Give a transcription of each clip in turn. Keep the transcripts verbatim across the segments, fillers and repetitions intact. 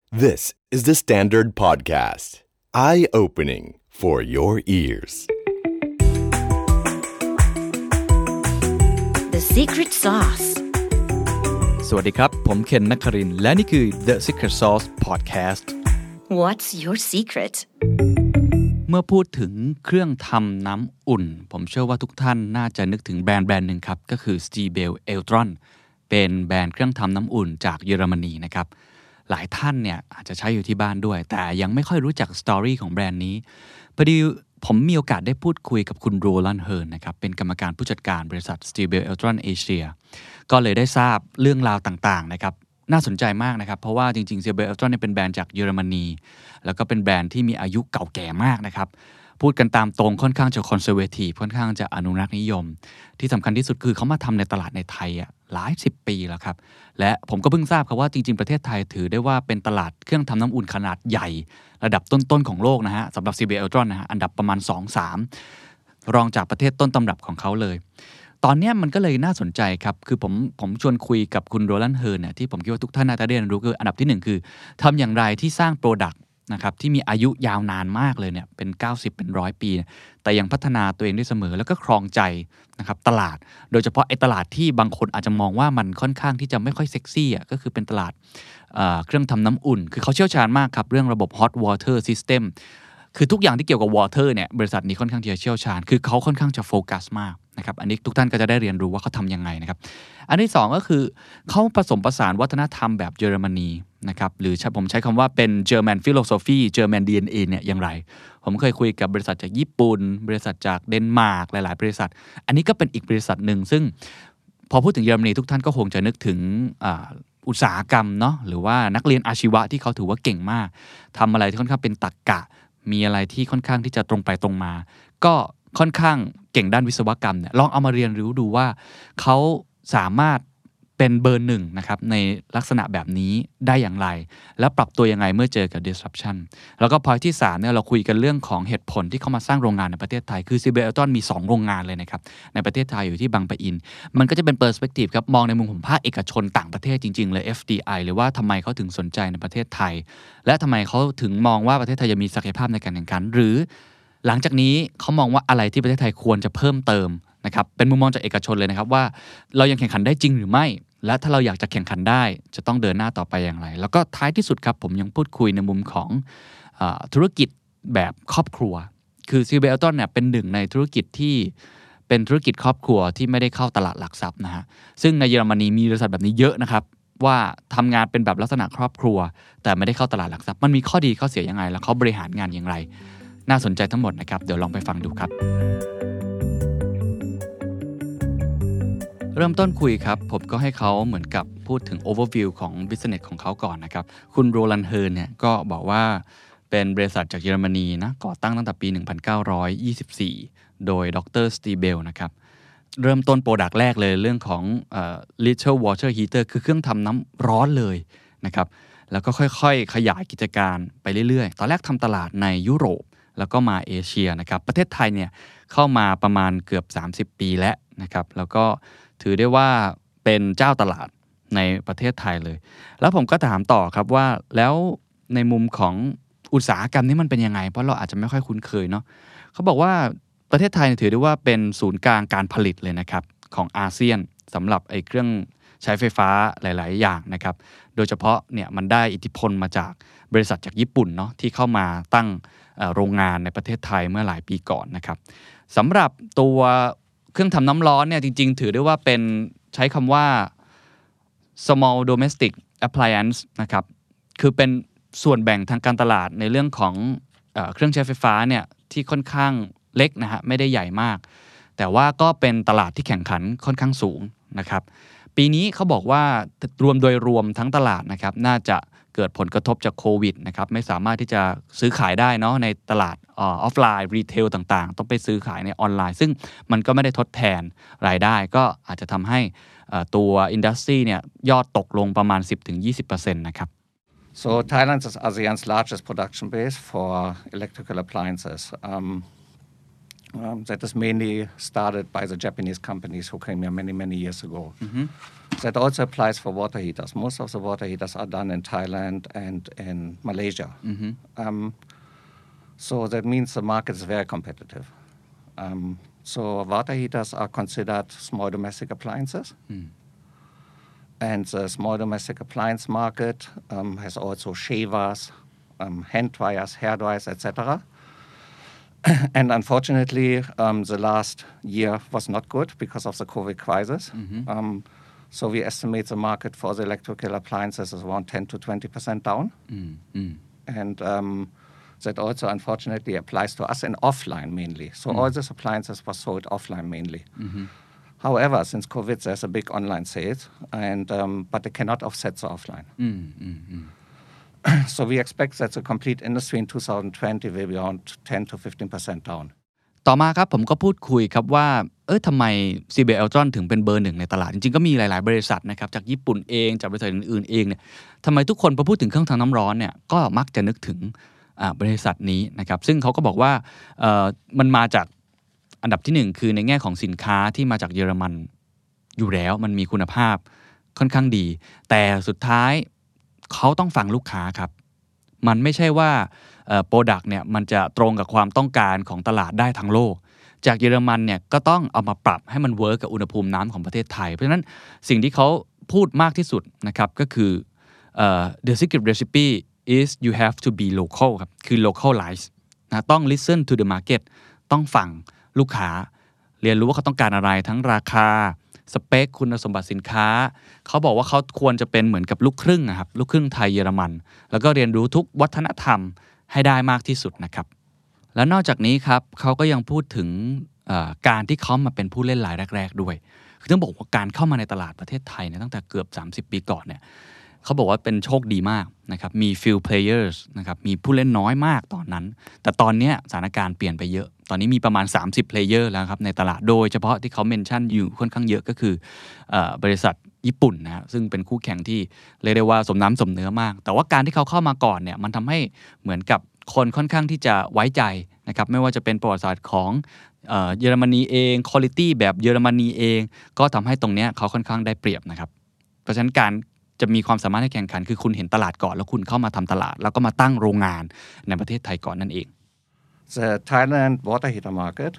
This is the Standard Podcast. Eye-opening for your ears. The Secret Sauce. สวัสดีครับผมเคนนครินทร์และนี่คือ The Secret Sauce Podcast. What's your secret? เมื่อพูดถึงเครื่องทำน้ำอุ่นผมเชื่อว่าทุกท่านน่าจะนึกถึงแบรนด์แบรนด์หนึ่งครับก็คือ Stiebel Eltron เป็นแบรนด์เครื่องทำน้ำอุ่นจากเยอรมนีนะครับหลายท่านเนี่ยอาจจะใช้อยู่ที่บ้านด้วยแต่ยังไม่ค่อยรู้จักสตอรี่ของแบรนด์นี้พอดีผมมีโอกาสได้พูดคุยกับคุณโรลันด์เฮิร์นนะครับเป็นกรรมการผู้จัดการบริษัท Stiebel Eltron Asia ก็เลยได้ทราบเรื่องราวต่างๆนะครับน่าสนใจมากนะครับเพราะว่าจริงๆ Stiebel Eltron เนี่ยเป็นแบรนด์จากเยอรมนีแล้วก็เป็นแบรนด์ที่มีอายุเก่าแก่มากนะครับพูดกันตามตรงค่อนข้างจะคอนเซอร์เวทีฟค่อนข้างจะอนุรักษ์นิยมที่สำคัญที่สุดคือเขามาทำในตลาดในไทยอ่ะหลายสิบปีแล้วครับและผมก็เพิ่งทราบครับว่าจริงๆประเทศไทยถือได้ว่าเป็นตลาดเครื่องทำน้ำอุ่นขนาดใหญ่ระดับต้นๆของโลกนะฮะสำหรับ Stiebel Eltron นะฮะอันดับประมาณ สองถึงสาม รองจากประเทศต้นตำรับของเขาเลยตอนนี้มันก็เลยน่าสนใจครับคือผมผมชวนคุยกับคุณโรลันด์เฮิร์นเนี่ยที่ผมคิดว่าทุกท่านน่าจะได้เรียนรู้คืออันดับที่หนึ่งคือทำอย่างไรที่สร้างโปรดักต์นะครับที่มีอายุยาวนานมากเลยเนี่ยเป็นเก้าสิบเป็นร้อยปีแต่ยังพัฒนาตัวเองได้เสมอแล้วก็ครองใจนะครับตลาดโดยเฉพาะไอ้ตลาดที่บางคนอาจจะมองว่ามันค่อนข้างที่จะไม่ค่อยเซ็กซี่อ่ะก็คือเป็นตลาดเอ่อเครื่องทำน้ำอุ่นคือเขาเชี่ยวชาญมากครับเรื่องระบบ hot water system คือทุกอย่างที่เกี่ยวกับ water เนี่ยบริษัทนี้ค่อนข้างที่จะเชี่ยวชาญคือเขาค่อนข้างจะโฟกัสมากนะครับอันนี้ทุกท่านก็จะได้เรียนรู้ว่าเขาทำยังไงนะครับอันที่สองก็คือเขาผสมผสานวัฒนธรรมแบบเยอรมนีนะครับหรือผมใช้คำว่าเป็น German philosophy German ดี เอ็น เอ เนี่ยอย่างไรผมเคยคุยกับบริษัทจากญี่ปุ่นบริษัทจากเดนมาร์กหลายๆบริษัทอันนี้ก็เป็นอีกบริษัทหนึ่งซึ่งพอพูดถึงเยอรมนีทุกท่านก็คงจะนึกถึงอ่าอุตสาหกรรมเนาะหรือว่านักเรียนอาชีวะที่เขาถือว่าเก่งมากทำอะไรที่ค่อนข้างเป็นตรรกะมีอะไรที่ค่อนข้างที่จะตรงไปตรงมาก็ค่อนข้างเก่งด้านวิศวกรรมเนี่ยลองเอามาเรียนรู้ดูว่าเขาสามารถเป็นเบอร์หนึ่งนะครับในลักษณะแบบนี้ได้อย่างไรและปรับตัวยังไงเมื่อเจอกับ disruption แล้วก็ point ที่สามเนี่ยเราคุยกันเรื่องของเหตุผลที่เขามาสร้างโรงงานในประเทศไทยคือ Stiebel Eltron มีสองโรงงานเลยนะครับในประเทศไทยอยู่ที่บางปะอินมันก็จะเป็น perspective ครับมองในมุมของภาคเอกชนต่างประเทศจริงๆเลย เอฟ ดี ไอ หรือว่าทำไมเขาถึงสนใจในประเทศไทยและทำไมเขาถึงมองว่าประเทศไทยจะมีศักยภาพในการแข่งขันหรือหลังจากนี้เขามองว่าอะไรที่ประเทศไทยควรจะเพิ่มเติมนะครับเป็นมุมมองจากเอกชนเลยนะครับว่าเรายังแข่งขันได้จริงหรือไม่และถ้าเราอยากจะแข่งขันได้จะต้องเดินหน้าต่อไปอย่างไรแล้วก็ท้ายที่สุดครับผมยังพูดคุยในมุมของเอ่อธุรกิจแบบครอบครัวคือ Stiebel Eltron เนี่ยเป็นหนึ่งในธุรกิจที่เป็นธุรกิจครอบครัวที่ไม่ได้เข้าตลาดหลักทรัพย์นะฮะซึ่งในเยอรมนีมีบริษัทแบบนี้เยอะนะครับว่าทำงานเป็นแบบลักษณะครอบครัวแต่ไม่ได้เข้าตลาดหลักทรัพย์มันมีข้อดีข้อเสียยังไงแล้วเขาบริหารงานอย่างไรน่าสนใจทั้งหมดนะครับเดี๋ยวลองไปฟังดูครับเริ่มต้นคุยครับผมก็ให้เขาเหมือนกับพูดถึง overview ของ business ของเขาก่อนนะครับคุณโรลันด์เฮิร์นเนี่ยก็บอกว่าเป็นบริษัทจากเยอรมนีนะก่อตั้งตั้งแต่ปีหนึ่งพันเก้าร้อยยี่สิบสี่โดยดร. Stiebel นะครับเริ่มต้นโปรดักต์แรกเลยเรื่องของเอ่อ little water heater คือเครื่องทำน้ำร้อนเลยนะครับแล้วก็ค่อยๆขยายกิจการไปเรื่อยๆตอนแรกทำตลาดในยุโรปแล้วก็มาเอเชียนะครับประเทศไทยเนี่ยเข้ามาประมาณเกือบสามสิบปีแล้วนะครับแล้วก็ถือได้ว่าเป็นเจ้าตลาดในประเทศไทยเลยแล้วผมก็ถามต่อครับว่าแล้วในมุมของอุตสาหกรรมนี้มันเป็นยังไงเพราะเราอาจจะไม่ค่อยคุ้นเคยเนาะเขาบอกว่าประเทศไทยถือได้ว่าเป็นศูนย์กลางการผลิตเลยนะครับของอาเซียนสำหรับไอ้เครื่องใช้ไฟฟ้าหลายๆอย่างนะครับโดยเฉพาะเนี่ยมันได้อิทธิพลมาจากบริษัทจากญี่ปุ่นเนาะที่เข้ามาตั้งโรงงานในประเทศไทยเมื่อหลายปีก่อนนะครับสำหรับตัวเครื่องทำน้ำร้อนเนี่ยจริงๆถือได้ว่าเป็นใช้คำว่า small domestic appliance นะครับคือเป็นส่วนแบ่งทางการตลาดในเรื่องของเอ่อเครื่องใช้ไฟฟ้าเนี่ยที่ค่อนข้างเล็กนะฮะไม่ได้ใหญ่มากแต่ว่าก็เป็นตลาดที่แข่งขันค่อนข้างสูงนะครับปีนี้เขาบอกว่ารวมโดยรวมทั้งตลาดนะครับน่าจะเกิดผลกระทบจากโควิดนะครับไม่สามารถที่จะซื้อขายได้เนาะในตลาดออฟไลน์รีเทลต่างๆต้องไปซื้อขายในออนไลน์ซึ่งมันก็ไม่ได้ทดแทนรายได้ก็อาจจะทำให้ตัวอินดัสทรีเนี่ยยอดตกลงประมาณ สิบถึงยี่สิบเปอร์เซ็นต์ นะครับ So Thailand is ASEAN's largest production base for electrical appliances. Um, Um, that is mainly started by the Japanese companies who came here many, many years ago. Mm-hmm. That also applies for water heaters. Most of the water heaters are done in Thailand and in Malaysia. Mm-hmm. Um, so that means the market is very competitive. Um, so water heaters are considered small domestic appliances. Mm. And the small domestic appliance market um, has also shavers, um, hand dryers, hair dryers, et cetera. And unfortunately, um, the last year was not good because of the COVID crisis. Mm-hmm. Um, so we estimate the market for the electrical appliances is around ten to twenty percent down. Mm-hmm. And um, that also, unfortunately, applies to us in offline mainly. So mm-hmm. all these appliances were sold offline mainly. Mm-hmm. However, since COVID, there's a big online sales, and um, but they cannot offset the offline. Mm-hmm. So we expect that the complete industry in twenty twenty will be around ten to fifteen percent down. ต่อมาครับผมก็พูดคุยครับว่าเออทำไม ซี บี เอ Eltron ถึงเป็นเบอร์หนึ่งในตลาดจริงๆก็มีหลายๆบริษัทนะครับจากญี่ปุ่นเองจากบริษัทอื่นๆเองเนี่ยทำไมทุกคนพอพูดถึงเครื่องทำน้ำร้อนเนี่ยก็มักจะนึกถึงอ่าบริษัทนี้นะครับซึ่งเขาก็บอกว่าเอ่อมันมาจากอันดับที่หนึ่งคือในแง่ของสินค้าที่มาจากเยอรมันอยู่แล้วมันมีคุณภาพค่อนข้างดีแต่สุดท้ายเขาต้องฟังลูกค้าครับมันไม่ใช่ว่าเอ่อ product เนี่ยมันจะตรงกับความต้องการของตลาดได้ทั้งโลกจากเยอรมันเนี่ยก็ต้องเอามาปรับให้มันเวิร์กกับอุณหภูมิน้ำของประเทศไทยเพราะฉะนั้นสิ่งที่เขาพูดมากที่สุดนะครับก็คือเอ่อ the secret recipe is you have to be local ครับคือ localize นะต้อง listen to the market ต้องฟังลูกค้าเรียนรู้ว่าเขาต้องการอะไรทั้งราคาสเปคคุณสมบัติสินค้าเขาบอกว่าเขาควรจะเป็นเหมือนกับลูกครึ่งนะครับลูกครึ่งไทยเยอรมันแล้วก็เรียนรู้ทุกวัฒนธรรมให้ได้มากที่สุดนะครับแล้วนอกจากนี้ครับเขาก็ยังพูดถึงการที่เขามาเป็นผู้เล่นรายแรกๆด้วยคือต้องบอกว่าการเข้ามาในตลาดประเทศไทยเนี่ยตั้งแต่เกือบสามสิบปีก่อนเนี่ยเขาบอกว่าเป็นโชคดีมากนะครับมี few players นะครับมีผู้เล่นน้อยมากตอนนั้นแต่ตอนนี้สถานการณ์เปลี่ยนไปเยอะตอนนี้มีประมาณสามสิบ player แล้วครับในตลาดโดยเฉพาะที่เขาเมนชั่นอยู่ค่อนข้างเยอะก็คือเอ่อบริษัทญี่ปุ่นนะซึ่งเป็นคู่แข่งที่เรียกได้ว่าสมน้ำสมเนื้อมากแต่ว่าการที่เขาเข้ามาก่อนเนี่ยมันทำให้เหมือนกับคนค่อนข้างที่จะไว้ใจนะครับไม่ว่าจะเป็นประวัติศาสตร์ของเอ่อเยอรมนีเอง quality แบบเยอรมนีเองก็ทำให้ตรงเนี้ยเขาค่อนข้างได้เปรียบนะครับเพราะฉะนั้นการจะมีความสามารถในแข่งขันคือคุณเห็นตลาดก่อนแล้วคุณเข้ามาทำตลาดแล้วก็มาตั้งโรงงานในประเทศไทยก่อนนั่นเอง The Thailand water heater market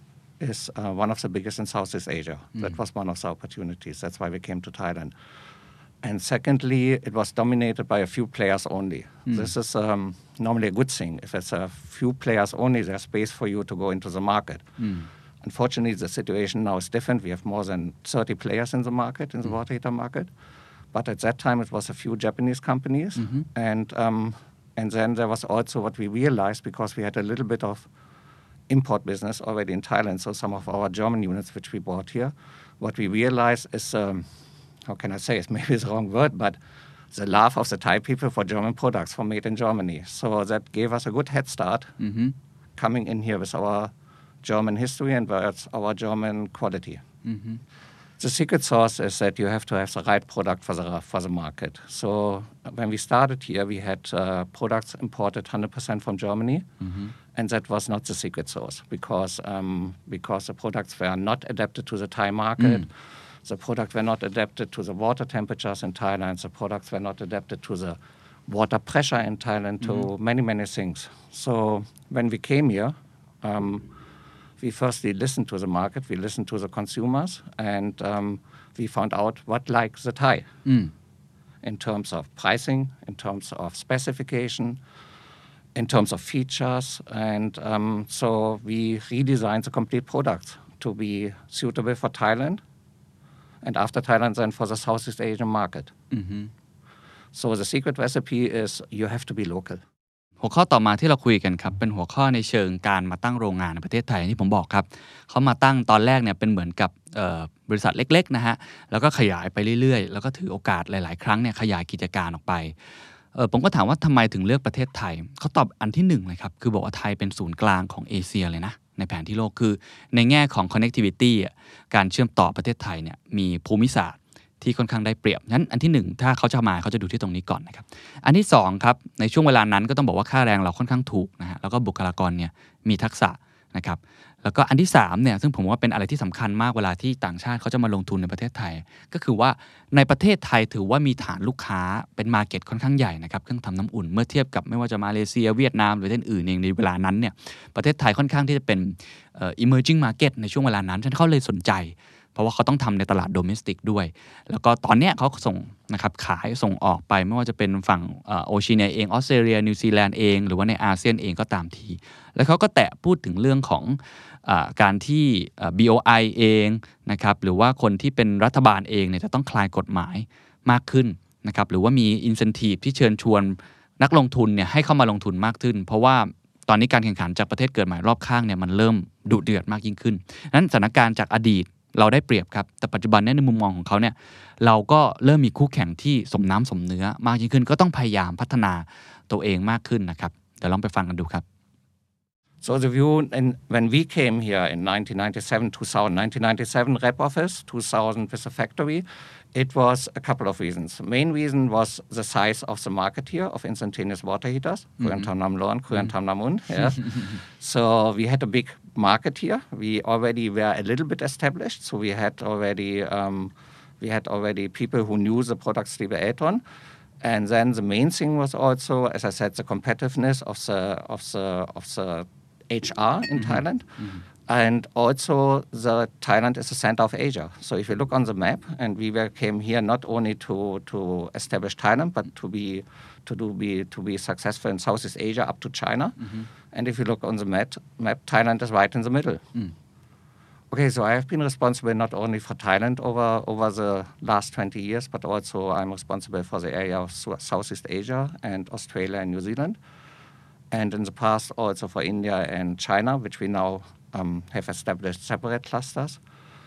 is uh, one of the biggest in Southeast Asia. Mm. That was one of the opportunities. That's why we came to Thailand. And secondly, it was dominated by a few players only. Mm. This is um, normally a good thing. If it's a few players only, there's space for you to go into the market. Mm. Unfortunately, the situation now is different. We have more than thirty players in the market, in the mm. water heater market.But at that time, it was a few Japanese companies. Mm-hmm. And um, and then there was also what we realized, because we had a little bit of import business already in Thailand, so some of our German units which we bought here, what we realized is, um, how can I say it, maybe it's the wrong word, but the love of the Thai people for German products, for made in Germany. So that gave us a good head start mm-hmm. coming in here with our German history and with our German quality. Mm-hmm.The secret sauce is that you have to have the right product for the for the market. So when we started here, we had uh, products imported one hundred percent from Germany, mm-hmm. and that was not the secret sauce because um, because the products were not adapted to the Thai market. Mm. The products were not adapted to the water temperatures in Thailand. The products were not adapted to the water pressure in Thailand, to mm-hmm. many, many things. So when we came here, um,we firstly listened to the market, we listened to the consumers, and um, we found out what likes the Thai mm. in terms of pricing, in terms of specification, in terms of features. And um, so we redesigned the complete product to be suitable for Thailand, and after Thailand, then for the Southeast Asian market. Mm-hmm. So the secret recipe is you have to be local. หัวข้อต่อมาที่เราคุยกันครับเป็นหัวข้อในเชิงการมาตั้งโรงงานในประเทศไทยที่ผมบอกครับเขามาตั้งตอนแรกเนี่ยเป็นเหมือนกับบริษัทเล็กๆนะฮะแล้วก็ขยายไปเรื่อยๆแล้วก็ถือโอกาสหลายๆครั้งเนี่ยขยายกิจการออกไปเออผมก็ถามว่าทำไมถึงเลือกประเทศไทยเขาตอบอันที่หนึ่งเลยครับคือบอกว่าไทยเป็นศูนย์กลางของเอเชียเลยนะในแผนที่โลกคือในแง่ของ connectivity การเชื่อมต่อประเทศไทยเนี่ยมีภูมิศาสตร์ที่ค่อนข้างได้เปรียบงั้นอันที่หนึ่งถ้าเขาจะมาเขาจะดูที่ตรงนี้ก่อนนะครับอันที่สองครับในช่วงเวลานั้นก็ต้องบอกว่าค่าแรงเราค่อนข้างถูกนะฮะแล้วก็บุคลากรเนี่ยมีทักษะนะครับแล้วก็อันที่สามเนี่ยซึ่งผมว่าเป็นอะไรที่สำคัญมากเวลาที่ต่างชาติเขาจะมาลงทุนในประเทศไทยก็คือว่าในประเทศไทยถือว่ามีฐานลูกค้าเป็นมาร์เก็ตค่อนข้างใหญ่นะครับเครื่องทำน้ำอุ่นเมื่อเทียบกับไม่ว่าจะมาเลเซียเวียดนามหรือประเทศอื่นเองในเวลานั้นเนี่ยประเทศไทยค่อนข้างที่จะเป็นเอ่อ emerging market ในช่วงเวลานั้นฉะนั้นเขาเลยสนใจเพราะว่าเขาต้องทำในตลาดโดเมสติกด้วยแล้วก็ตอนเนี้ยเขาส่งนะครับขายส่งออกไปไม่ว่าจะเป็นฝั่งโอเชียเนียเองออสเตรเลียนิวซีแลนด์เองหรือว่าในอาเซียนเองก็ตามทีแล้วเขาก็แตะพูดถึงเรื่องของการที่ บี โอ ไอ เองนะครับหรือว่าคนที่เป็นรัฐบาลเองเนี่ยจะต้องคลายกฎหมายมากขึ้นนะครับหรือว่ามี incentive ที่เชิญชวนนักลงทุนเนี่ยให้เข้ามาลงทุนมากขึ้นเพราะว่าตอนนี้การแข่งขันจากประเทศเกิดใหม่รอบข้างเนี่ยมันเริ่มดุเดือดมากยิ่งขึ้นนั้นสถานการณ์จากอดีตเราได้เปรียบครับแต่ปัจจุบันเนี่ยในมุมมองของเขาเนี่ยเราก็เริ่มมีคู่แข่งที่สมน้ำสมเนื้อมากยิ่งขึ้นก็ต้องพยายามพัฒนาตัวเองมากขึ้นนะครับเดี๋ยวลองไปฟังกันดูครับ So the view, in, when we came here in nineteen ninety-seven, two thousand, nineteen ninety-seven rep office, two thousand with the factory, it was a couple of reasons. The main reason was the size of the market here of instantaneous water heaters, Kuyan Tham Nam Lon, Kuyan Tham Nam Un. Yes. So we had a big market here. We already were a little bit established, so we had already um, we had already people who knew the product Stiebel Eltron. And then the main thing was also, as I said, the competitiveness of the of the of the H R in mm-hmm. Thailand. Mm-hmm. And also the Thailand is the center of Asia. So if you look on the map, and we were, came here not only to, to establish Thailand, but to be to do be to be successful in Southeast Asia up to China. Mm-hmm. And if you look on the map, map, Thailand is right in the middle. Mm. Okay, so I have been responsible not only for Thailand over, over the last twenty years, but also I'm responsible for the area of Southeast Asia and Australia and New Zealand. And in the past also for India and China, which we now um, have established separate clusters.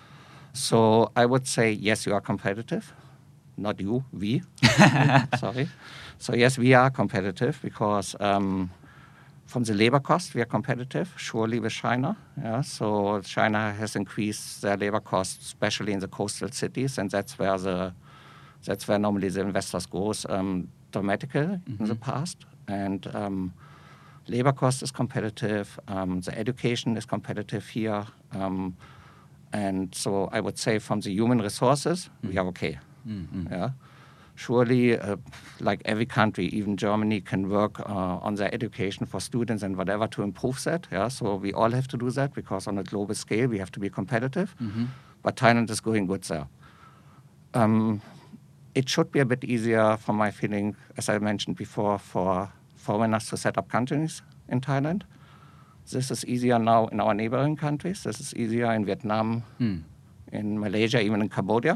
So I would say, yes, you are competitive. Not you, we. Sorry. So yes, we are competitive because um, from the labor cost, we are competitive, surely with China. Yeah? So China has increased their labor costs, especially in the coastal cities, and that's where the that's where normally the investors go um, dramatically mm-hmm. in the past. And um, labor cost is competitive. Um, the education is competitive here. Um, and so I would say from the human resources, mm-hmm. we are okay. Mm-hmm. Yeah. Surely, uh, like every country, even Germany can work uh, on their education for students and whatever to improve that. Yeah, so we all have to do that because on a global scale we have to be competitive. Mm-hmm. But Thailand is going good there. Um, it should be a bit easier, from my feeling, as I mentioned before, for foreigners to set up companies in Thailand. This is easier now in our neighboring countries. This is easier in Vietnam, mm. in Malaysia, even in Cambodia.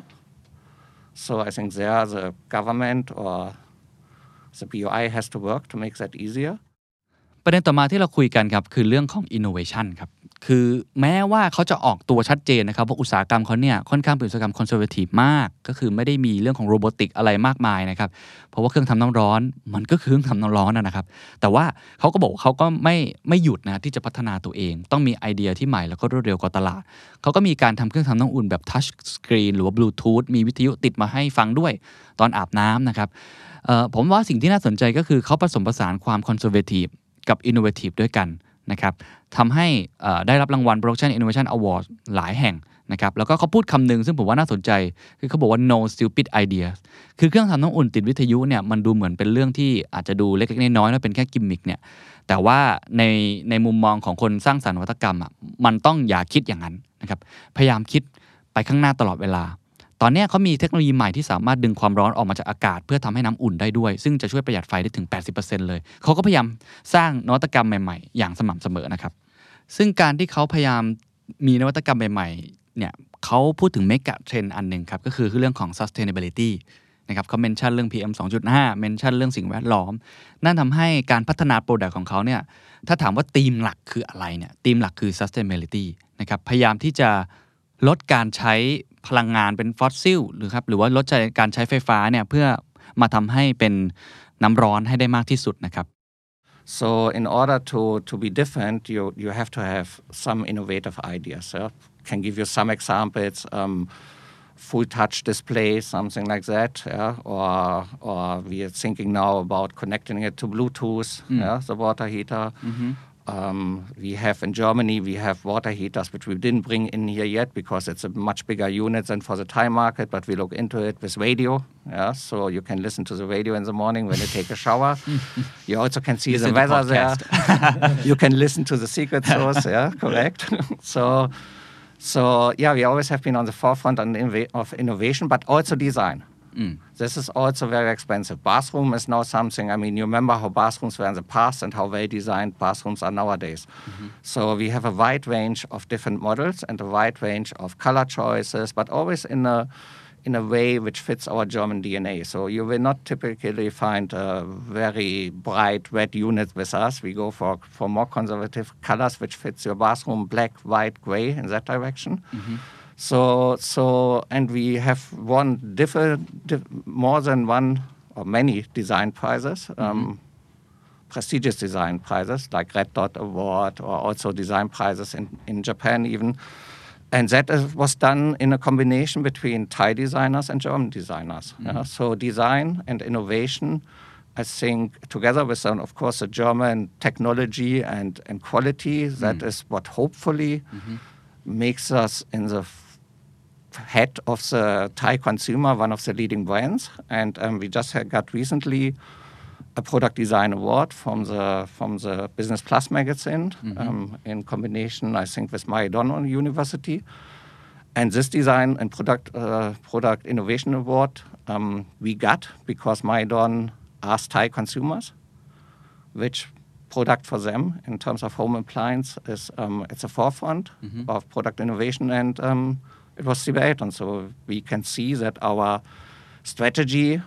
So I think there the government or the B O I has to work to make that easier. ประเด็นต่อมาที่เราคุยกันครับคือเรื่องของ innovation ครับคือแม้ว่าเขาจะออกตัวชัดเจนนะครับว่าอุตสาหกรรมเขาเนี่ยค่อนข้างเป็นอุตสาหกรรม conservative มากก็คือไม่ได้มีเรื่องของโรบอติกอะไรมากมายนะครับเพราะว่าเครื่องทำน้ำร้อนมันก็คือเครื่องทำน้ำร้อนนะครับแต่ว่าเขาก็บอกเขาก็ไม่ไม่หยุดนะที่จะพัฒนาตัวเองต้องมีไอเดียที่ใหม่แล้วก็รวดเร็วกว่าตลาดเขาก็มีการทำเครื่องทำน้ำอุ่นแบบ touch screen หรือว่า Bluetooth มีวิทยุติดมาให้ฟังด้วยตอนอาบน้ำนะครับผมว่าสิ่งที่น่าสนใจก็คือเขาผสมผสานความ conservative กับ innovative ด้วยกันนะครับทำให้ได้รับรางวัล Production Innovation Award หลายแห่งนะครับแล้วก็เขาพูดคำหนึ่งซึ่งผมว่าน่าสนใจคือเขาบอกว่า no stupid ideas คือเครื่องทำน้ำอุ่นติดวิทยุเนี่ยมันดูเหมือนเป็นเรื่องที่อาจจะดูเล็กๆน้อยๆแล้วเป็นแค่กิมมิคเนี่ยแต่ว่าในในมุมมองของคนสร้างสรรค์นวัตกรรมอ่ะมันต้องอย่าคิดอย่างนั้นนะครับพยายามคิดไปข้างหน้าตลอดเวลาตอนนี้เขามีเทคโนโลยีใหม่ที่สามารถดึงความร้อนออกมาจากอากาศเพื่อทำให้น้ำอุ่นได้ด้วยซึ่งจะช่วยประหยัดไฟได้ถึง แปดสิบเปอร์เซ็นต์ เลยเขาก็พยายามสร้างนวัตกรรมใหม่ๆอย่างสม่ำเสมอนะครับซึ่งการที่เขาพยายามมีนวัตกรรมใหม่ๆเนี่ยเขาพูดถึงเมกะเทรนด์อันหนึ่งครับก็คือเรื่องของ sustainability นะครับเขาเมนชั่นเรื่อง พี เอ็ม สองจุดห้า เมนชั่นเรื่องสิ่งแวดล้อมนั่นทำให้การพัฒนาโปรดักต์ของเขาเนี่ยถ้าถามว่าธีมหลักคืออะไรเนี่ยธีมหลักคือ sustainability นะครับพยายามที่จะลดการใช้พลังงานเป็นฟอสซิลหรือครับหรือว่าลดการใช้ไฟฟ้าเนี่ยเพื่อมาทำให้เป็นน้ำร้อนให้ได้มากที่สุดนะครับ So in order to to be different, you you have to have some innovative ideas. Yeah? Can give you some examples. Um, full touch display, something like that, yeah? or or we are thinking now about connecting it to Bluetooth, mm. yeah, the water heater. Mm-hmm. Um, we have in Germany, we have water heaters, which we didn't bring in here yet because it's a much bigger unit than for the Thai market, but we look into it with radio. Yeah, so you can listen to the radio in the morning when you take a shower. You also can see listen the weather there. You can listen to the secret source. Yeah, correct. so, so yeah, we always have been on the forefront of innovation, but also design. Mm. This is also very expensive. Bathroom is now something, I mean, you remember how bathrooms were in the past and how well-designed bathrooms are nowadays. Mm-hmm. So we have a wide range of different models and a wide range of color choices, but always in a in a way which fits our German D N A. So you will not typically find a very bright red unit with us. We go for, for more conservative colors which fits your bathroom, black, white, gray, in that direction. Mm-hmm. So, so, and we have won different, diff, more than one or many design prizes, um, mm-hmm. prestigious design prizes like Red Dot Award, or also design prizes in, in Japan even. And that is, was done in a combination between Thai designers and German designers. Mm-hmm. Yeah? So design and innovation, I think, together with, um, of course, the German technology and, and quality, that mm-hmm. is what hopefully mm-hmm. makes us in the head of the Thai consumer, one of the leading brands. And um, we just had got recently a product design award from the from the Business Plus magazine mm-hmm. um, in combination, I think, with Mahidol University. And this design and product uh, product innovation award um, we got because Mahidol asked Thai consumers which product for them in terms of home appliance is um, at the forefront mm-hmm. of product innovation, and um, it was C B Eltron. So we can see that our strategy,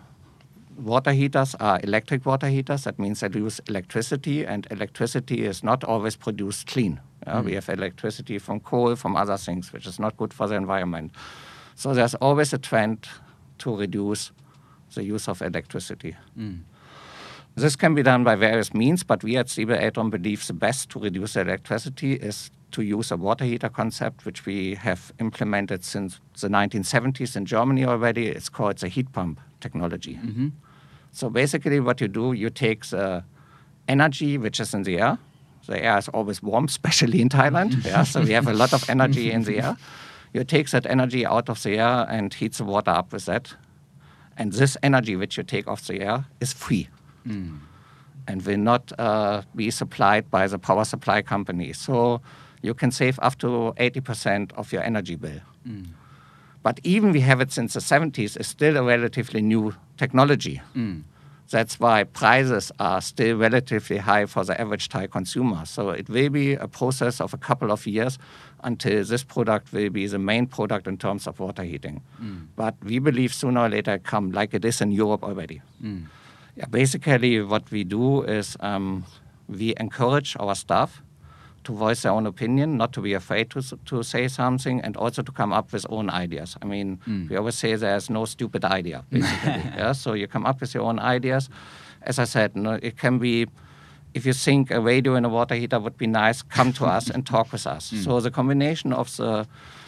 water heaters are electric water heaters. That means they use electricity, and electricity is not always produced clean. Uh, mm-hmm. We have electricity from coal, from other things, which is not good for the environment. So there's always a trend to reduce the use of electricity. Mm. This can be done by various means, but we at C B Eltron believe the best to reduce the electricity is to use a water heater concept, which we have implemented since the nineteen seventies in Germany already. It's called the heat pump technology. Mm-hmm. So basically what you do, you take the energy which is in the air. The air is always warm, especially in Thailand. yeah, so we have a lot of energy in the air. You take that energy out of the air and heat the water up with that. And this energy which you take off the air is free. Mm. And will not uh, be supplied by the power supply company. So you can save up to eighty percent of your energy bill. Mm. But even we have it since the seventies, it's still a relatively new technology. Mm. That's why prices are still relatively high for the average Thai consumer. So it will be a process of a couple of years until this product will be the main product in terms of water heating. Mm. But we believe sooner or later it come like it is in Europe already. Mm. Yeah, basically what we do is um, we encourage our staff to voice their own opinion, not to be afraid to to say something, and also to come up with own ideas. I mean, mm. we always say there's no stupid idea, basically. yeah? So you come up with your own ideas. As I said, you know, it can be, if you think a radio and a water heater would be nice, come to us and talk with us. Mm. So the combination of the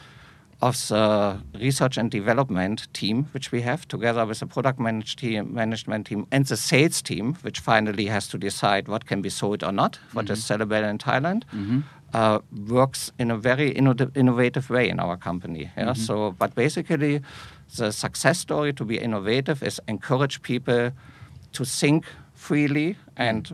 of the research and development team, which we have, together with the product manage team, management team and the sales team, which finally has to decide what can be sold or not, what mm-hmm. is sellable in Thailand, mm-hmm. uh, works in a very inno- innovative way in our company. Yeah? Mm-hmm. So, but basically, the success story to be innovative is encourage people to think freely and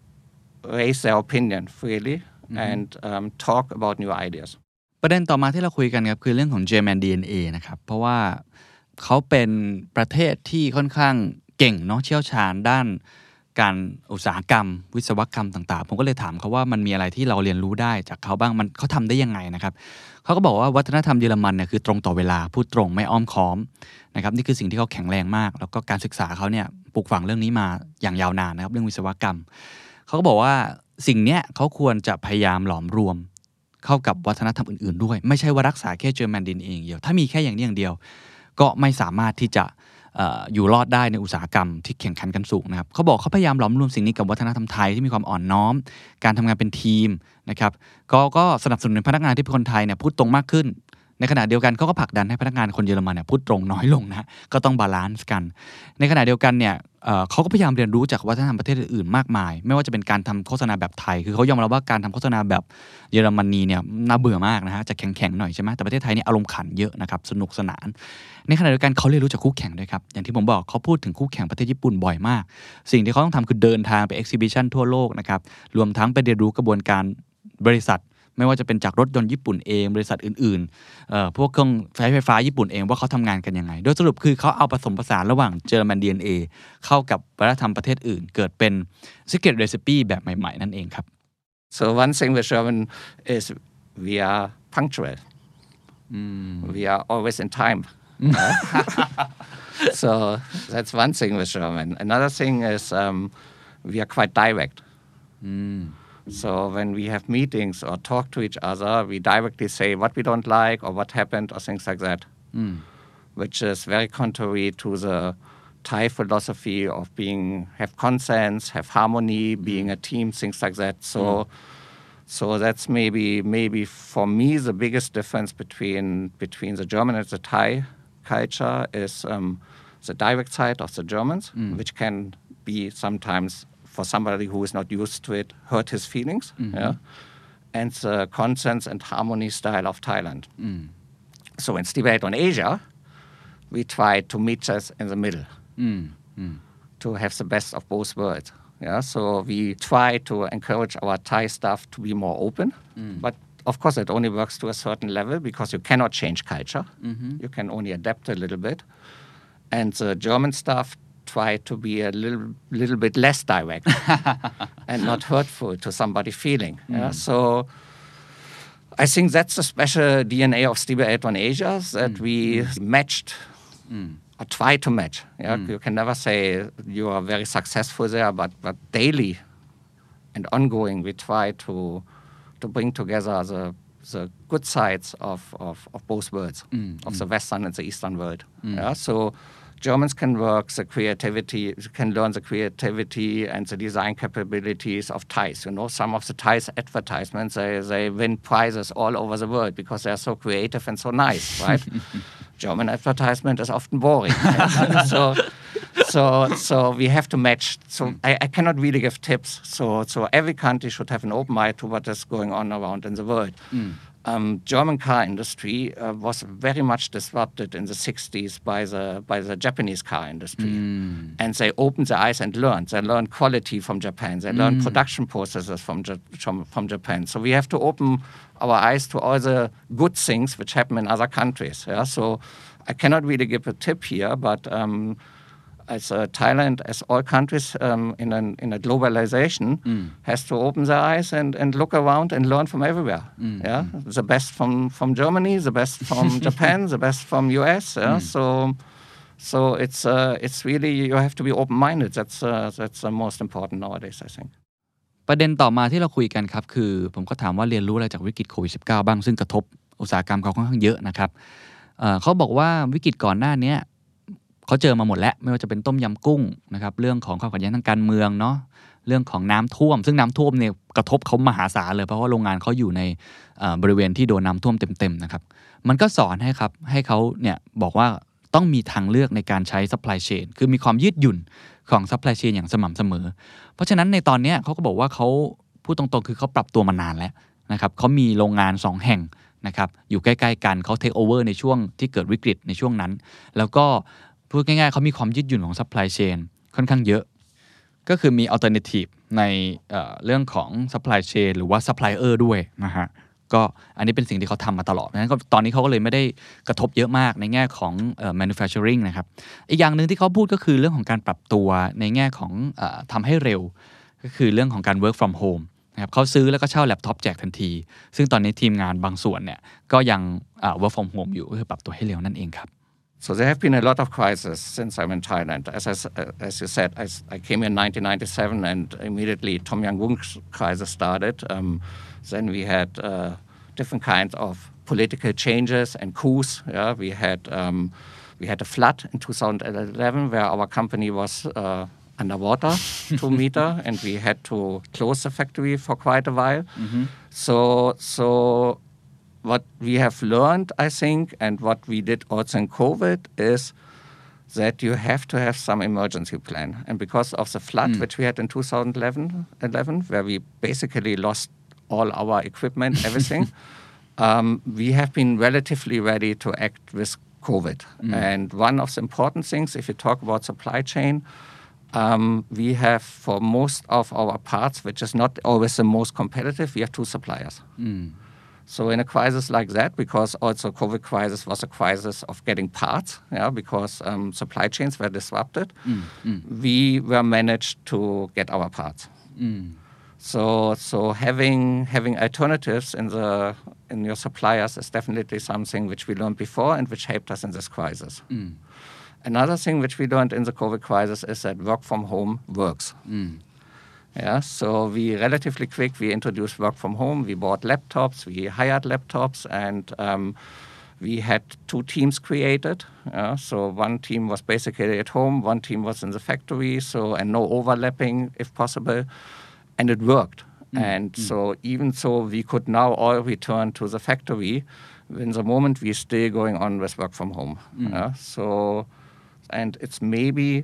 raise their opinion freely mm-hmm. and um, talk about new ideas. ประเด็นต่อมาที่เราคุยกันครับคือเรื่องของ German ดี เอ็น เอ นะครับเพราะว่าเขาเป็นประเทศที่ค่อนข้างเก่งเนาะเชี่ยวชาญด้านการอุตสาหกรรมวิศวกรรมต่างๆผมก็เลยถามเขาว่ามันมีอะไรที่เราเรียนรู้ได้จากเขาบ้างมันเขาทำได้ยังไงนะครับเขาก็บอกว่าวัฒนธรรมเยอรมันเนี่ยคือตรงต่อเวลาพูดตรงไม่อ้อมค้อมนะครับนี่คือสิ่งที่เขาแข็งแรงมากแล้วก็การศึกษาเขาเนี่ยปลูกฝังเรื่องนี้มาอย่างยาวนานนะครับเรื่องวิศวกรรมเขาก็บอกว่าสิ่งเนี้ยเขาควรจะพยายามหลอมรวมเข้ากับวัฒนธรรมอื่นๆด้วยไม่ใช่ว่ารักษาแค่ German ดี เอ็น เอ อย่างเดียวถ้ามีแค่อย่างนี้อย่างเดียวก็ไม่สามารถที่จะเอ่ออยู่รอดได้ในอุตสาหกรรมที่แข่งขันกันสูงนะครับเขาบอกเขาพยายามหลอมรวมสิ่งนี้กับวัฒนธรรมไทยที่มีความอ่อนน้อมการทำงานเป็นทีมนะครับก็ก็สนับสนุนพนักงานที่เป็นคนไทยเนี่ยพูดตรงมากขึ้นในขณะเดียวกันเขาก็ผลักดันให้พนักงานคนเยอรมันเนี่ยพูดตรงน้อยลงนะก็ต้องบาลานซ์กันในขณะเดียวกันเนี่ยเอ่อเขาก็พยายามเรียนรู้จากวัฒนธรรมประเทศอื่นๆมากมายไม่ว่าจะเป็นการทำโฆษณาแบบไทยคือเขายอมรับว่าการทำโฆษณาแบบเยอรมนีเนี่ยน่าเบื่อมากนะฮะจะแข็งๆหน่อยใช่ไหมแต่ประเทศไทยเนี่ยอารมณ์ขันเยอะนะครับสนุกสนานในขณะเดียวกันเขาเรียนรู้จากคู่แข่งด้วยครับอย่างที่ผมบอกเขาพูดถึงคู่แข่งประเทศญี่ปุ่นบ่อยมากสิ่งที่เขาต้องทำคือเดินทางไป exhibition ทั่วโลกนะครับรวมทั้งไปเรียนรู้กระบวนการบริษัทไม่ว่าจะเป็นจากรถยนต์ญี่ปุ่นเองบริษัทอื่นๆเอ่อพวกเครื่องใช้ไฟฟ้าญี่ปุ่นเองว่าเขาทำงานกันยังไงโดยสรุปคือเขาเอาผสมผสานระหว่างเยอรมัน ดี เอ็น เอ เข้ากับวัฒนธรรมประเทศอื่นเกิดเป็น secret recipe แบบใหม่ๆนั่นเองครับ So one thing with German is we are punctual. Mm. We are always in time. So that's one thing with German. Another thing is um, we are quite direct. Mm.So when we have meetings or talk to each other, we directly say what we don't like or what happened or things like that, mm. which is very contrary to the Thai philosophy of being have consensus, have harmony, mm. being a team, things like that. So, mm. so that's maybe maybe for me the biggest difference between between the German and the Thai culture is um, the direct side of the Germans, mm. which can be sometimes.For somebody who is not used to it, hurt his feelings, mm-hmm. yeah, and the consensus and harmony style of Thailand. Mm. So in Tibet on Asia, we try to meet us in the middle, mm. Mm. to have the best of both worlds. Yeah, so we try to encourage our Thai staff to be more open, mm. but of course it only works to a certain level because you cannot change culture. Mm-hmm. You can only adapt a little bit, and the German staff.try to be a little little bit less direct and not hurtful to somebody's feeling. Mm. Yeah? So I think that's the special D N A of Stiebel Eltron Asia that mm. we matched mm. or try to match. Yeah? Mm. You can never say you are very successful there, but, but daily and ongoing we try to to bring together the the good sides of, of, of both worlds, mm. of mm. the Western and the Eastern world. Mm. Yeah? So,Germans can work the creativity, can learn the creativity and the design capabilities of Thais. You know, some of the Thais advertisements, they, they win prizes all over the world because they're so creative and so nice, right? German advertisement is often boring. so, so, so we have to match. So I, I cannot really give tips. So, so every country should have an open mind to what is going on around in the world. Mm.Um, German car industry uh, was very much disrupted in the sixties by the by the Japanese car industry, mm. and they opened their eyes and learned. They learned quality from Japan. They mm. learned production processes from, from from Japan. So we have to open our eyes to all the good things which happen in other countries. Yeah? So I cannot really give a tip here, but um,as uh, Thailand, as all countries um, in, an, in a globalization, mm. has to open their eyes and, and look around and learn from everywhere. Mm. Yeah, the best from, from Germany, the best from Japan, the best from U S. Yeah? Mm. So, so it's uh, it's really you have to be open-minded. That's uh, that's the most important nowadays, I think. ประเด็นต่อมาที่เราคุยกันครับคือผมก็ถามว่าเรียนรู้อะไรจากวิกฤตโควิด สิบเก้า บ้างซึ่งกระทบอุตสาหกรรมเขาค่อนข้างเยอะนะครับเอ่อเขาบอกว่าวิกฤตก่อนหน้านี้เขาเจอมาหมดแล้วไม่ว่าจะเป็นต้มยำกุ้งนะครับเรื่องของความขัดแย้งทางการเมืองเนาะเรื่องของน้ำท่วมซึ่งน้ำท่วมเนี่ยกระทบเขามหาศาลเลยเพราะว่าโรงงานเขาอยู่ในบริเวณที่โดนน้ำท่วมเต็มๆนะครับมันก็สอนให้ครับให้เขาเนี่ยบอกว่าต้องมีทางเลือกในการใช้ supply chain คือมีความยืดหยุ่นของ supply chain อย่างสม่ำเสมอเพราะฉะนั้นในตอนนี้เขาก็บอกว่าเขาพูดตรงๆคือเขาปรับตัวมานานแล้วนะครับเขามีโรงงานสองแห่งนะครับอยู่ใกล้ๆกันเขา take over ในช่วงที่เกิดวิกฤตในช่วงนั้นแล้วก็พูดง่ายๆเขามีความยืดหยุ่นของ supply chain ค่อนข้างเยอะก็คือมี alternative ใน เอ่อ เรื่องของ supply chain หรือว่า supplier ด้วยนะฮะก็อันนี้เป็นสิ่งที่เขาทำมาตลอดนั้นก็ตอนนี้เขาก็เลยไม่ได้กระทบเยอะมากในแง่ของเอ่อ manufacturing นะครับอีกอย่างนึงที่เขาพูดก็คือเรื่องของการปรับตัวในแง่ของเอ่อทำให้เร็วก็คือเรื่องของการ work from home นะครับเขาซื้อแล้วก็เช่าแล็ปท็อปแจกทันทีซึ่งตอนนี้ทีมงานบางส่วนเนี่ยก็ยังเอ่อ work from home อยู่ก็คือปรับตัวให้เร็วนั่นเองครับ So there have been a lot of crises since I'm in Thailand. As I, as you said, I, I came in nineteen ninety-seven and immediately Tom Yam Goong crisis started. Um, then we had uh, different kinds of political changes and coups. Yeah, we had um, we had a flood in two thousand eleven where our company was uh, underwater two meter, and we had to close the factory for quite a while. Mm-hmm. So so. What we have learned, I think, and what we did also in COVID is that you have to have some emergency plan. And because of the flood, mm. which we had in two thousand eleven, where we basically lost all our equipment, everything, um, we have been relatively ready to act with COVID. Mm. And one of the important things, if you talk about supply chain, um, we have for most of our parts, which is not always the most competitive, we have two suppliers. Mm. So in a crisis like that, because also COVID crisis was a crisis of getting parts, yeah, because um, supply chains were disrupted, mm. Mm. we were managed to get our parts. Mm. So so having having alternatives in the in your suppliers is definitely something which we learned before and which helped us in this crisis. Mm. Another thing which we learned in the COVID crisis is that work from home works. Mm. Yeah, so we relatively quick, we introduced work from home. We bought laptops, we hired laptops, and um, we had two teams created. Yeah, so one team was basically at home, one team was in the factory, so and no overlapping if possible. And it worked. Mm. And mm. so even so, we could now all return to the factory. In the moment, we're still going on with work from home. Mm. Yeah? So, and it's maybe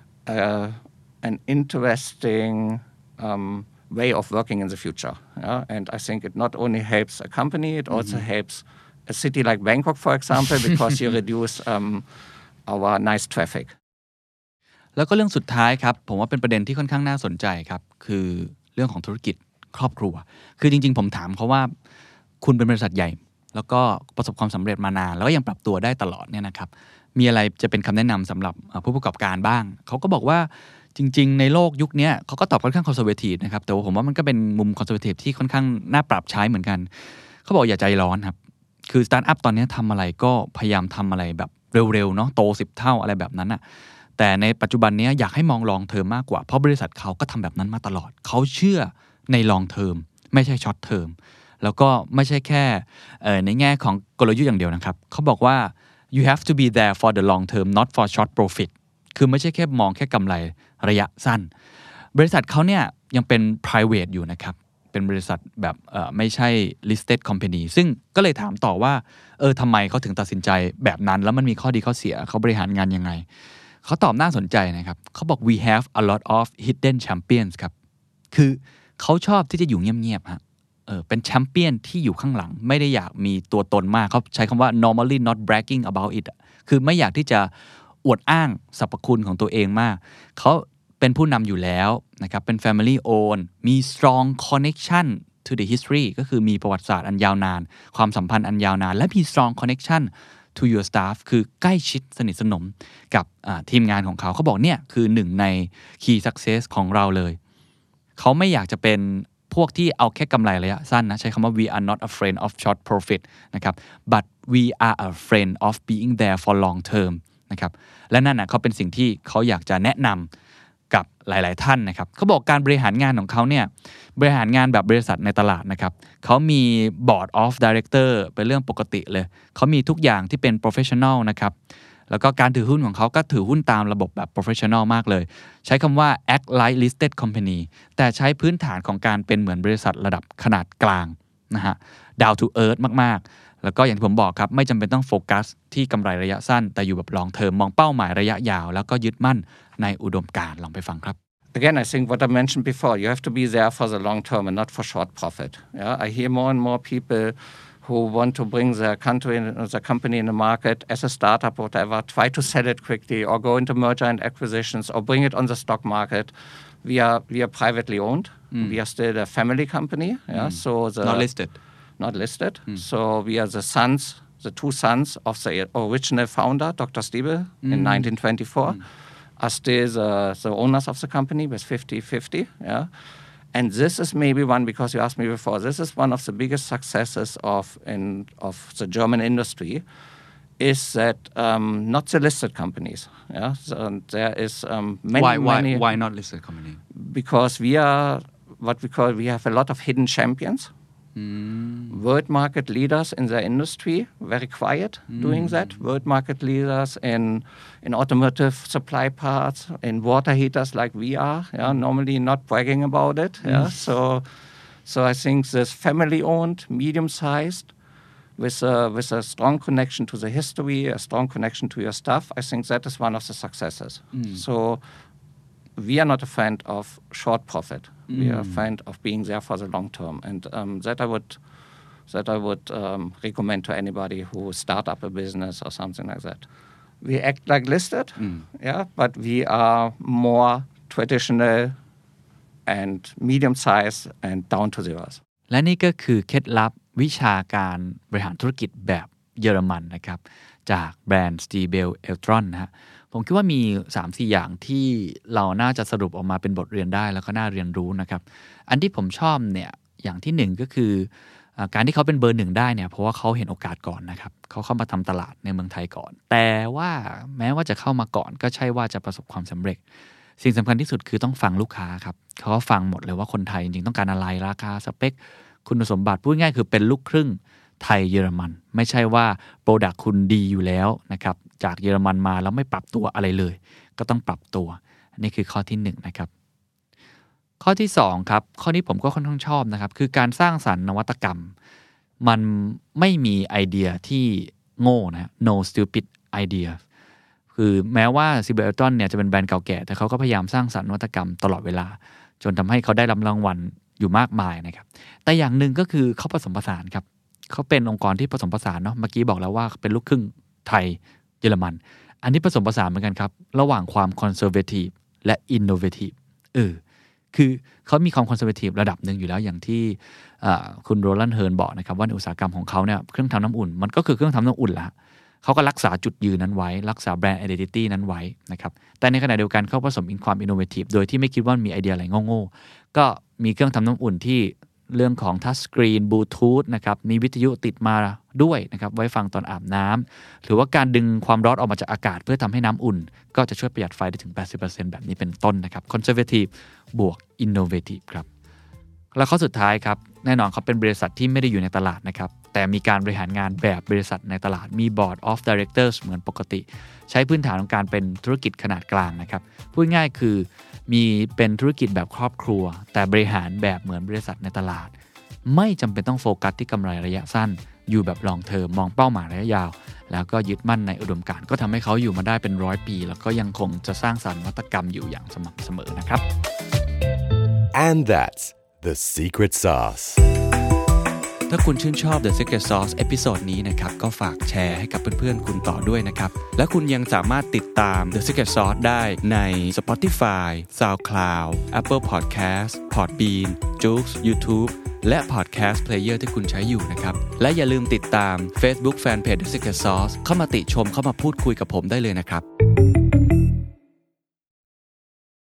uh, an interesting um, way of working in the future. Yeah? And I think it not only helps a company, it also mm-hmm. helps a city like Bangkok, for example, because you reduce um, our nice traffic. แล้วก็เรื่องสุดท้ายครับผมว่าเป็นประเด็นที่ค่อนข้างน่าสนใจครับคือเรื่องของธุรกิจครอบครัวคือจริงๆผมถามเขาว่าคุณเป็นบริษัทใหญ่แล้วก็ประสบความสำเร็จมานานแล้วก็ยังปรับตัวได้ตลอดเนี่ยนะครับมีอะไรจะเป็นคำแนะนำสำหรับผู้ประกอบการบ้างเขาก็บอกว่าจริงๆในโลกยุคนี้เขาก็ตอบค่อนข้างคอนเซอร์เวทีฟนะครับแต่ว่าผมว่ามันก็เป็นมุมคอนเซอร์เวทีฟที่ค่อนข้างน่าปรับใช้เหมือนกันเขาบอกอย่าใจร้อนครับคือสตาร์ทอัพตอนนี้ทำอะไรก็พยายามทำอะไรแบบเร็วๆเนาะโตสิบเท่าอะไรแบบนั้นอ่ะแต่ในปัจจุบันนี้อยากให้มองลองเทอมมากกว่าเพราะบริษัทเขาก็ทำแบบนั้นมาตลอดเขาเชื่อในลองเทอมไม่ใช่ช็อตเทอมแล้วก็ไม่ใช่แค่ในแง่ของกลยุทธ์อย่างเดียวนะครับเขาบอกว่า you have to be there for the long term not for short profit คือไม่ใช่แค่มองแค่กำไรระยะสั้นบริษัทเขาเนี่ยยังเป็น private อยู่นะครับเป็นบริษัทแบบไม่ใช่ listed company ซึ่งก็เลยถามต่อว่าเออทำไมเขาถึงตัดสินใจแบบนั้นแล้วมันมีข้อดีข้อเสียเขาบริหารงานยังไงเขาตอบน่าสนใจนะครับเขาบอก we have a lot of hidden champions ครับคือเขาชอบที่จะอยู่เงียบๆฮะเออเป็นแชมเปี้ยนที่อยู่ข้างหลังไม่ได้อยากมีตัวตนมากเขาใช้คำว่า normally not bragging about it คือไม่อยากที่จะอวดอ้างสรรพคุณของตัวเองมากเขาเป็นผู้นำอยู่แล้วนะครับเป็น family own มี strong connection to the history ก็คือมีประวัติศาสตร์อันยาวนานความสัมพันธ์อันยาวนานและมี strong connection to your staff คือใกล้ชิดสนิทสนมกับทีมงานของเขาเขาบอกเนี่ยคือหนึ่งใน key success ของเราเลยเขาไม่อยากจะเป็นพวกที่เอาแค่กำไรระยะสั้นนะใช้คำว่า we are not a friend of short profit นะครับ but we are a friend of being there for long term นะครับและนั่นนะเขาเป็นสิ่งที่เขาอยากจะแนะนำกับหลายๆท่านนะครับเขาบอกการบริหารงานของเขาเนี่ยบริหารงานแบบบริษัทในตลาดนะครับเขามี board of director เป็นเรื่องปกติเลยเขามีทุกอย่างที่เป็น professional นะครับแล้วก็การถือหุ้นของเขาก็ถือหุ้นตามระบบแบบ professional มากเลยใช้คำว่า act like listed company แต่ใช้พื้นฐานของการเป็นเหมือนบริษัทระดับขนาดกลางนะฮะ down to earth มากๆแล้วก็อย่างที่ผมบอกครับไม่จำเป็นต้องโฟกัสที่กำไรระยะสั้นแต่อยู่แบบ long term มองเป้าหมายระยะยาวแล้วก็ยึดมั่นในอุดมการณ์ลองไปฟังครับ Again, I think what I mentioned before, you have to be there for the long term and not for short profit. Yeah, I hear more and more people who want to bring their country, their company in the market as a startup or whatever, try to sell it quickly or go into merger and acquisitions or bring it on the stock market. We are we are privately owned. Mm. We are still a family company. Yeah, mm. so the not listed. Not listed. Mm. So we are the sons, the two sons of the original founder, Doctor Stiebel, mm. in nineteen twenty-four, mm. are still the, the owners of the company with fifty-fifty. Yeah. And this is maybe one, because you asked me before, this is one of the biggest successes of in of the German industry, is that um, not the listed companies. Yeah, so there is um, many, why, why, many. Why not listed company? Because we are what we call we have a lot of hidden champions. Mm. World market leaders in their industry, very quiet mm. doing that. World market leaders in in automotive supply parts, in water heaters like we are. Yeah, normally not bragging about it. Yeah, mm. so so I think this family-owned, medium-sized, with a, with a strong connection to the history, a strong connection to your stuff, I think that is one of the successes. Mm. So we are not a fan of short profit. Mm. We are a fan of being there for the long term, and um, that I would that I would um, recommend to anybody who start up a business or something like that. We act like listed, mm. yeah, but we are more traditional and medium size and down to the earth. และนี่ก็คือเคล็ดลับวิชาการบริหารธุรกิจแบบเยอรมันนะครับจากแบรนด์ Stiebel Eltron นะฮะผมคิดว่ามี สามสี่ อย่างที่เราน่าจะสรุปออกมาเป็นบทเรียนได้แล้วก็น่าเรียนรู้นะครับอันที่ผมชอบเนี่ยอย่างที่หนึ่งก็คือการที่เขาเป็นเบอร์หนึ่งได้เนี่ยเพราะว่าเขาเห็นโอกาสก่อนนะครับเขาเข้ามาทำตลาดในเมืองไทยก่อนแต่ว่าแม้ว่าจะเข้ามาก่อนก็ใช่ว่าจะประสบความสำเร็จสิ่งสำคัญที่สุดคือต้องฟังลูกค้าครับเขาก็ฟังหมดเลยว่าคนไทยจริงๆต้องการอะไรราคาสเปคคุณสมบัติพูดง่ายคือเป็นลูกครึ่งไทยเยอรมันไม่ใช่ว่าโปรดักต์คุณดีอยู่แล้วนะครับจากเยอรมันมาแล้วไม่ปรับตัวอะไรเลยก็ต้องปรับตัวอันนี้คือข้อที่หนึ่งนะครับข้อที่สองครับข้อนี้ผมก็ค่อนข้างชอบนะครับคือการสร้างสรรค์นวัตกรรมมันไม่มีไอเดียที่โง่นะ no stupid idea คือแม้ว่า Stiebel Eltron เนี่ยจะเป็นแบรนด์เก่าแก่แต่เขาก็พยายามสร้างสรรค์นวัตกรรมตลอดเวลาจนทำให้เขาได้รับรางวัลอยู่มากมายนะครับแต่อย่างหนึ่งก็คือเขาผสมผสานครับเขาเป็นองค์กรที่ผสมผสานเนาะเมื่อกี้บอกแล้วว่าเป็นลูกครึ่งไทยเยอรมันอันนี้ผสมผสานเหมือนกันครับระหว่างความคอนเซอร์เวทีฟและอินโนเวทีฟเออคือเขามีความคอนเซอร์เวทีฟระดับหนึ่งอยู่แล้วอย่างที่คุณโรลันด์เฮิร์นบอกนะครับว่าในอุตสาหกรรมของเขาเนี่ยเครื่องทำน้ำอุ่นมันก็คือเครื่องทำน้ำอุ่นละเขาก็รักษาจุดยืนนั้นไว้รักษาแบรนด์ identity นั้นไว้นะครับแต่ในขณะเดียวกันเขาผสมความอินโนเวทีฟโดยที่ไม่คิดว่ามีไอเดียอะไรโง่ๆก็มีเครื่องทำน้ำอุ่นที่เรื่องของทัชสกรีนบลูทูธนะครับมีวิทยุติดมาด้วยนะครับไว้ฟังตอนอาบน้ำหรือว่าการดึงความร้อนออกมาจากอากาศเพื่อทำให้น้ำอุ่นก็จะช่วยประหยัดไฟได้ถึง แปดสิบเปอร์เซ็นต์ แบบนี้เป็นต้นนะครับคอนเซอร์เวทีฟบวกอินโนเวทีฟครับแล้วข้อสุดท้ายครับแน่นอนเขาเป็นบริษัทที่ไม่ได้อยู่ในตลาดนะครับแต่มีการบริหารงานแบบบริษัทในตลาดมี Board of Directors เหมือนปกติใช้พื้นฐานของการเป็นธุรกิจขนาดกลางนะครับพูดง่ายคือมีเป็นธุรกิจแบบครอบครัวแต่บริหารแบบเหมือนบริษัทในตลาดไม่จำเป็นต้องโฟกัสที่กำไรระยะสั้นอยู่แบบลองเทอมมองเป้าหมายระยะยาวแล้วก็ยึดมั่นในอุดมการณ์ก็ทำให้เขาอยู่มาได้เป็นร้อยปีแล้วก็ยังคงจะสร้างสรรค์นวัตกรรมอยู่อย่างสม่ำเสมอนะครับ And that's the secret sauce ถ้าคุณชื่นชอบ The Secret Sauce เอพิโซดนี้นะครับก็ฝากแชร์ให้กับเพื่อนๆคุณต่อด้วยนะครับและคุณยังสามารถติดตาม The Secret Sauce ได้ใน Spotify, SoundCloud, Apple Podcast, Podbean, Joox, YouTube และ Podcast Player ที่คุณใช้อยู่นะครับและอย่าลืมติดตาม Facebook Fanpage The Secret Sauce เข้ามาติชมเข้ามาพูดคุยกับผมได้เลยนะครับ